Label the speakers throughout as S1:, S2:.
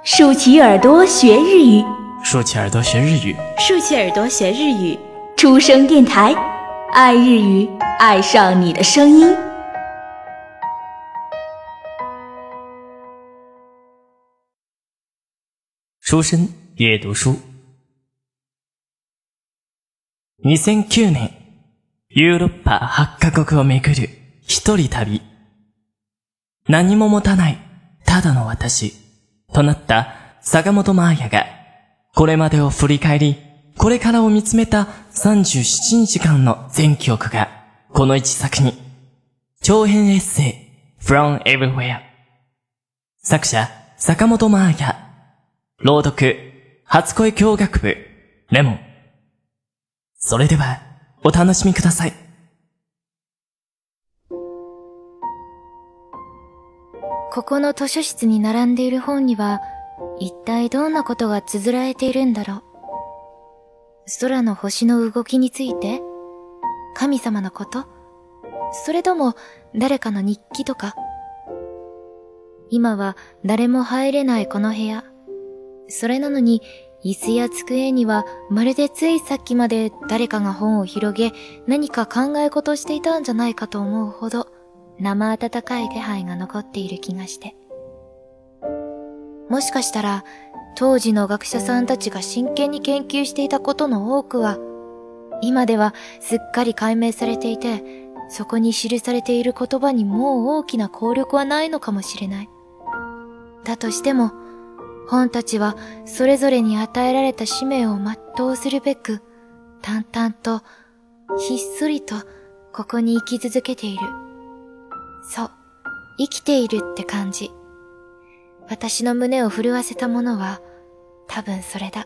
S1: 竖起耳朵学日语，
S2: 竖起耳朵学日语，
S3: 竖起耳朵学日语。
S1: 出生电台，爱日语，爱上你的声音。
S2: 出身阅读书。2009年、ヨーロッパ8カ国を巡る一人旅。何も持たないただの私となった坂本真綾が、これまでを振り返り、これからを見つめた37日間の全記憶がこの一作に。長編エッセイ From Everywhere。作者坂本真綾。朗読初恋教学部レモン。それではお楽しみください。
S4: ここの図書室に並んでいる本には一体どんなことが綴られているんだろう。空の星の動きについて、神様のこと、それとも誰かの日記とか。今は誰も入れないこの部屋。それなのに椅子や机にはまるでついさっきまで誰かが本を広げ何か考え事していたんじゃないかと思うほど生温かい気配が残っている気がして。もしかしたら当時の学者さんたちが真剣に研究していたことの多くは今ではすっかり解明されていて、そこに記されている言葉にもう大きな効力はないのかもしれない。だとしても本たちはそれぞれに与えられた使命を全うするべく、淡々と、ひっそりと、ここに生き続けている。そう、生きているって感じ。私の胸を震わせたものは、多分それだ。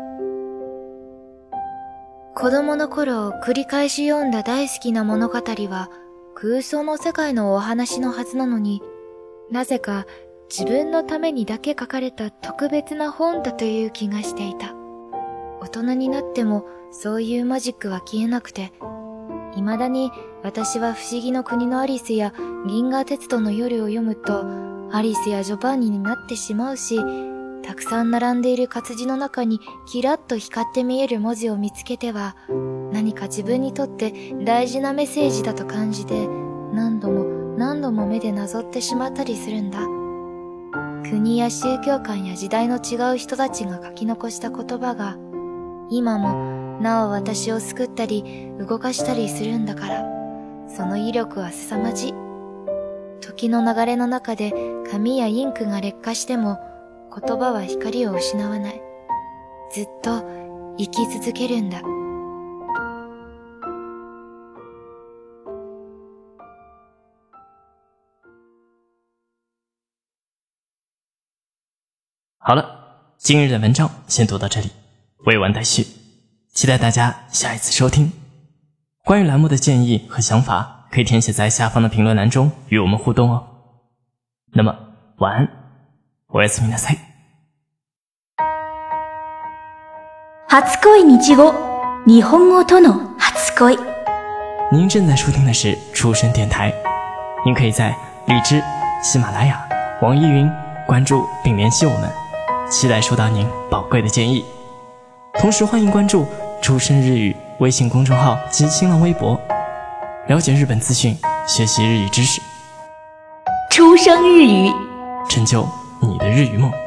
S4: 子供の頃、繰り返し読んだ大好きな物語は、空想の世界のお話のはずなのに、なぜか、自分のためにだけ書かれた特別な本だという気がしていた。大人になってもそういうマジックは消えなくて、未だに私は不思議の国のアリスや銀河鉄道の夜を読むと、アリスやジョバンニになってしまうし、たくさん並んでいる活字の中にキラッと光って見える文字を見つけては、何か自分にとって大事なメッセージだと感じて、何度も目でなぞってしまったりするんだ。国や宗教観や時代の違う人たちが書き残した言葉が、今もなお私を救ったり動かしたりするんだから、その威力は凄まじい。時の流れの中で紙やインクが劣化しても、言葉は光を失わない。ずっと生き続けるんだ。
S2: 好了，今日的文章先读到这里，未完待续，期待大家下一次收听。关于栏目的建议和想法，可以填写在下方的评论栏中与我们互动哦。那么晚安，おやすみなさい。
S1: 初恋日語、日本語との初恋。
S2: 您正在收听的是出生电台，您可以在荔枝、喜马拉雅、网易云关注并联系我们，期待收到您宝贵的建议。同时欢迎关注出生日语微信公众号及新浪微博，了解日本资讯，学习日语知识，
S1: 出生日语，
S2: 成就你的日语梦。